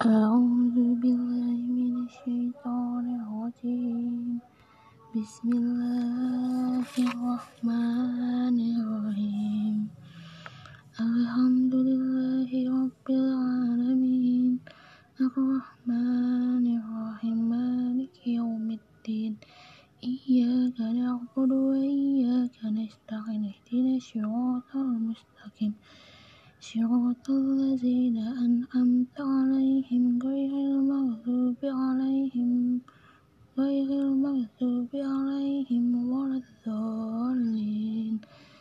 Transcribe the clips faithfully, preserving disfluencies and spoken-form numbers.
أعوذ بالله من الشيطان الرجيم بسم الله الرحمن الرحيم الحمد لله رب العالمين الرحمن الرحيم مالك يوم الدين إياك نعبد وإياك نستعين اهدنا الصراط المستقيم صراط الذين أنعمت عليهم غير المغضوب عليهم غير المغضوب عليهم ولا الضالين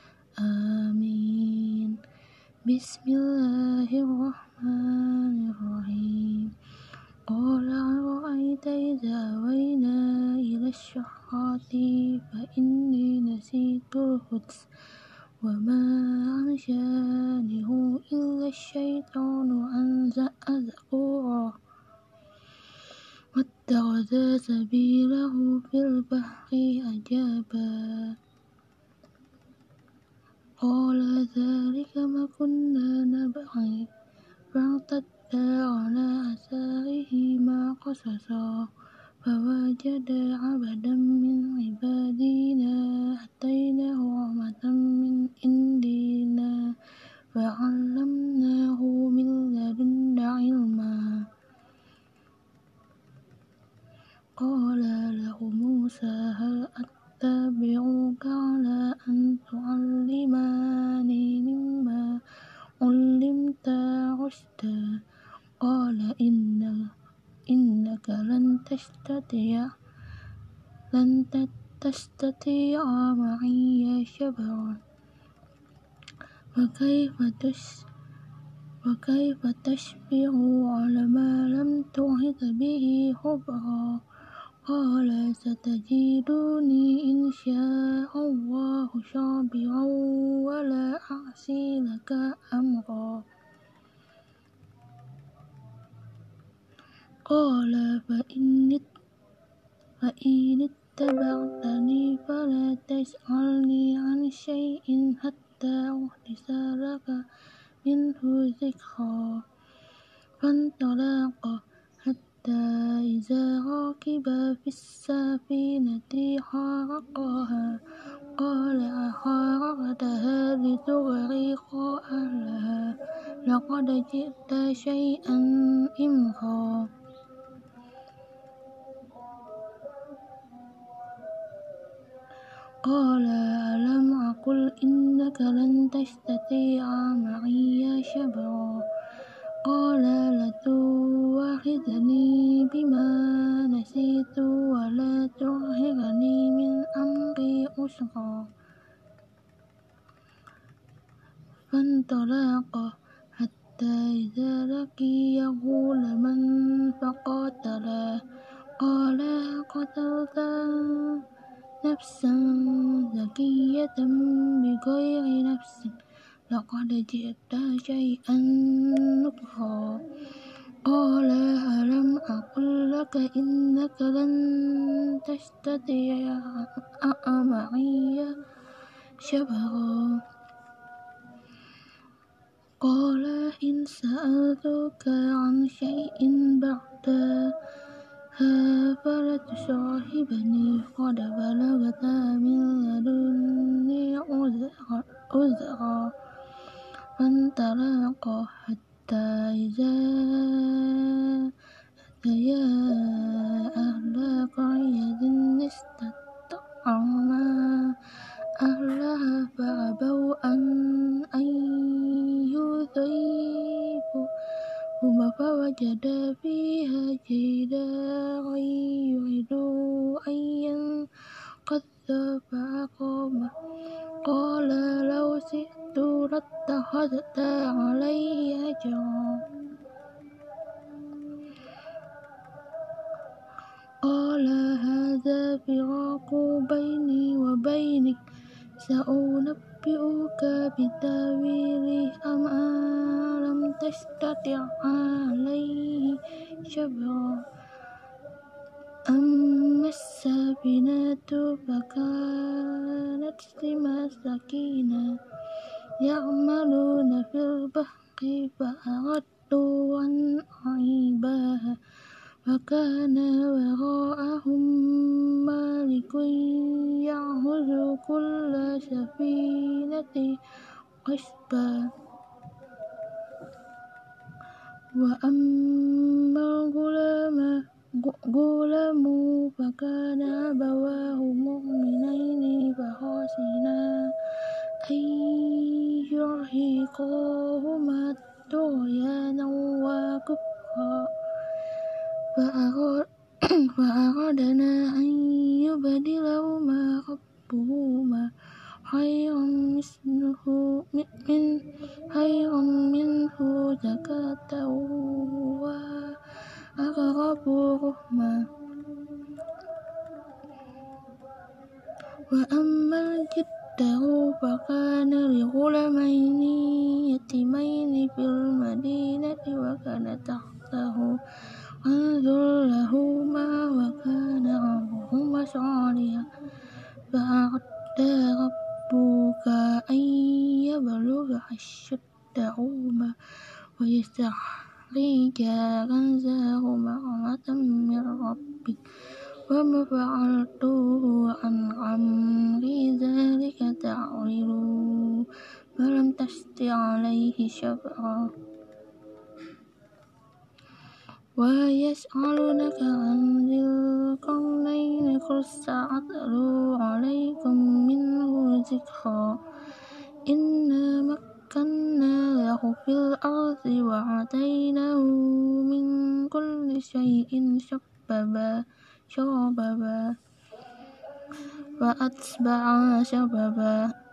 آمين. بسم الله الرحمن الرحيم قال أرأيت إذا أوينا إلى الصخرة فإني نسيت الحوت وما أنسانيه إلا الشيطان أن أذكره واتخذ سبيله في البحر عجبا قال ذلك ما كنا نبغي فارتدا على آثارهما قصصا فوجد عبدا من عبادنا آتيناه رحمة من عندنا فعلمناه من لدنا علما قال له موسى هل أتبعك على أن تعلمني مما علمت رشدا قال إن إنك لن تستطيع لن تستطيع معي صبرا وكيف تس وكيف تصبر على ما لم تحط به خبرا قال ستجدني إن شاء الله صابرا ولا أعصي لك أمرا قال فإن فإن اتبعتني فلا تسألني عن شيء حتى أحدث لك منه ذكرا فانطلقا حتى إذا ركبا في السفينة خرقها قال أخرقتها لتغرق أهلها لقد جئت شيئا إمرا قال ألم أقل إنك لن تستطيع معي صبرا قال لتؤاخذني بما نسيت ولا ترهقني من أمري عسرا فانطلقا حتى إذا لقيا غلاما فقتله قال قتلت نفسا زكية بغير نفس لقد جئت شيئا نكرا قال ألم أقل لك إنك لن تستطيع معي صبرا قال إن سألتك عن شيء بعدها فلا تصاحبني قد بلغت من لدني عذرا فانطلقا حتى إذا أتيا أهل قرية استطعما أهلها فأبوا أن يضيفوهما فوجدا فيها جدارا يريد أن ينقض فأقامه قال لو شئت لاتخذت عليه أجرا قال هذا فراق بيني وبينك سأنبئك بتأويله أما لم تستطع عليه صبرا أما السفينة فكانت لمساكين يعملون في البحر فأردت أن أعيبها وكان وراءهم ملك يأخذ كل سفينة غصبا وأما الغلام غلام فكان أبواه مؤمنين فخشينا أن يرهقاهما طغيانا وكفرا فأرادنا أن يبدلهما ربهما خيرا منه خيرا منه زكاة وأقرب رحما وأما الجدار فكان لغلامين يتيمين في المدينة وكان تحته كنز لهما وكان أبوهما صالحا فأراد ربك أن يبلغا أشدهما ويستخرجا كنزهما رحمة من ربك وما فعلته عن أمري ذلك تأويل ما لم تستطع عليه صبرا ويسألونك عن ذي القرنين قل سأتلو عليكم منه ذكرا إنا مكنا له في الأرض وآتيناه من كل شيء سببا شربا فأتبع سببا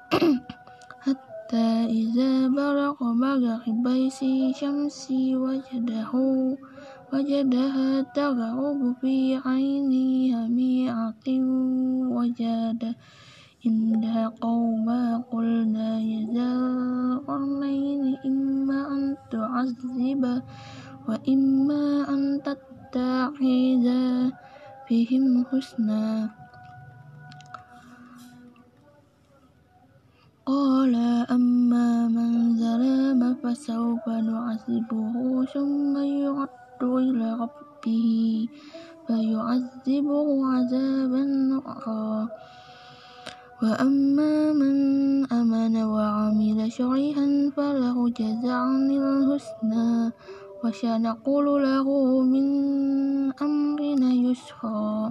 حتى إذا بلغ مغرب الشمس وجده وجدها تغرب في عين حمئة وجد عندها قوما قلنا يا ذا القرنين إما أن تعذب وإما أن تتخذ فيهم حسنا قال أما من ظلم فسوف نعذبه ثم يرد إلى ربه فيعذبه عذابا نكرا وأما من آمن وعمل صالحا فله جزاء الحسنى وسنقول له من أمرنا يسرا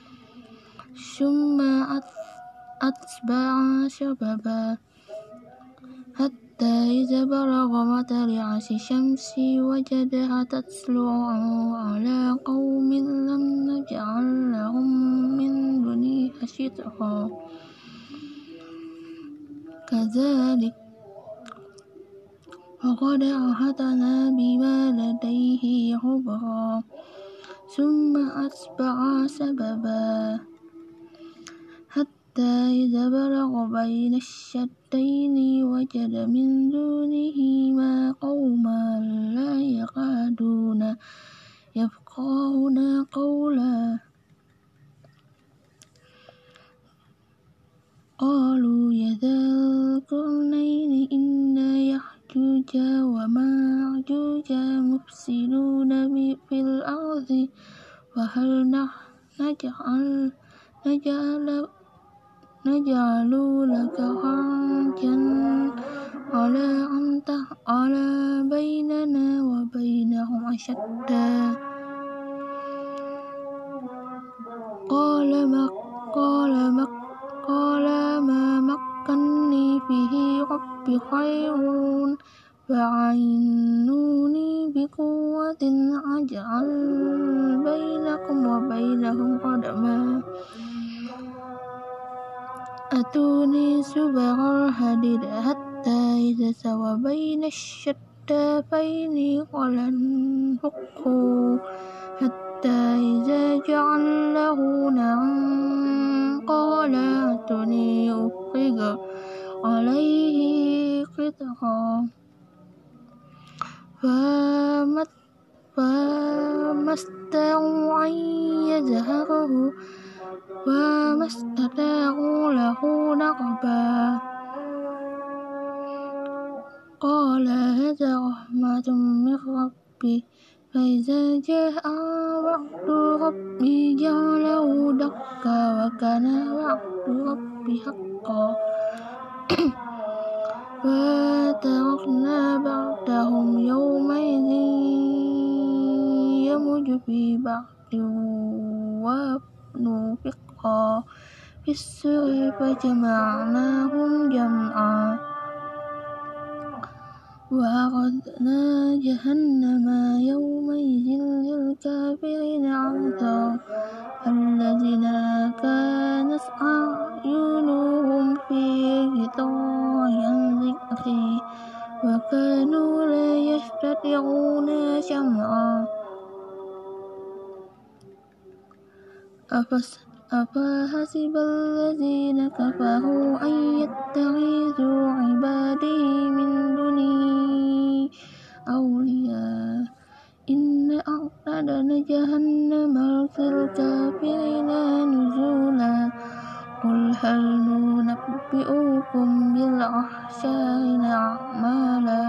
ثم أتبع سببا حتى إذا بلغ مطلع الشمس وجدها تطلع على قوم لم نجعل لهم من دونها سترا كذلك وقد أحطنا بما لديه خبرا ثم أتبع سببا حتى إذا بلغ بين الشتين وجد من دونهما قوما لا يكادون يفقهون قولا قالوا يا ذا القرنين إن يأجوج ومأجوج مفسدون في الأرض وهل نجعل نجعل نجعل لك خرجا على أن تجعل بيننا وبينهم أشدا قال ما قال ما قال ما مكنني فيه ربي خير فأعينوني بقوة أجعل بينكم وبينهم ردما أتوني زبر الحديد حتى إذا سوى بين الشتين قال انفخوا حتى إذا جعله نارا قال أتوني أفرغ عليه قطرا فما استطاعوا أن يظهره وما استطاعوا له نقبا قال هذا رحمة من ربي فإذا جاء وعد ربي جعله دكا وكان وعد ربي حقا وتركنا بعدهم يومئذ يموج في بعض ونفخا في السور فجمعناهم جمعا وعرضنا جهنم يومئذ للكافرين عرضا الذين كانت أعينهم في غطاء عن ذكري وكانوا لا يستطيعون سمعا أفحسب الذين كفروا أن يتخذوا عبادي من دوني أولياء إنا أعتدنا جهنم للكافرين نزلا قل هل ننبئكم بالأخسرين أعمالا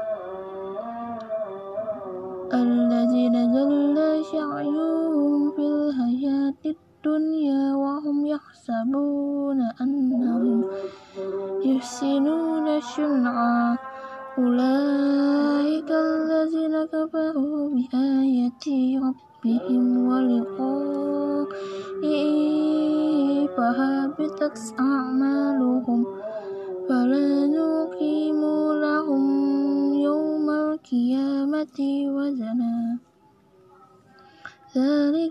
الذين ضل سعيهم في الحياة الدنيا وهم يحسبون أنهم يحسنون صنعا أولئك الذين كفروا بآيات ربهم ولقائه فهبطت أعمالهم فلا نقيم لهم يوم القيامة وزنا ذلك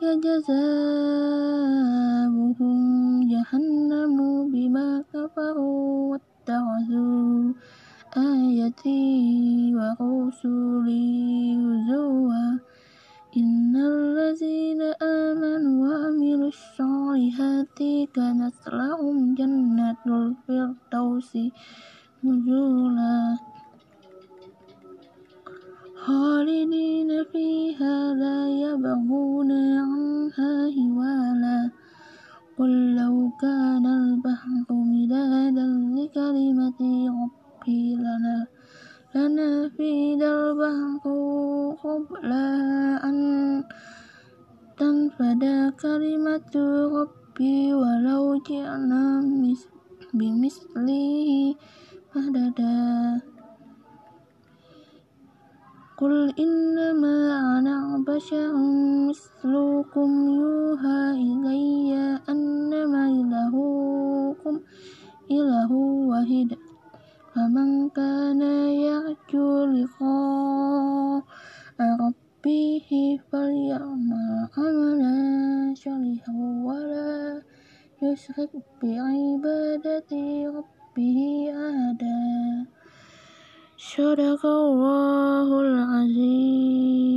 جزاؤهم جهنم بما كفروا واتخذوا آياتي ورسلي هزوا إن الذين آمنوا وعملوا الصالحات كانت لهم جنات الفردوس نزلا خالدين فيها لا يبغون عنها حولا قل لو كان البحر مدادا لكلمة ربي لنا لنفد البحر قبل أن تنفد كلمة ربي ولو جئنا بمثله مددا قل إنما أنا بشر مثلكم يوحى إلي أنما إلهكم إله واحد فمن كان يرجو لقاء ربه فليعمل عملا صالحا ولا يشرك بعبادة ربه أحدا صدق الله العظيم.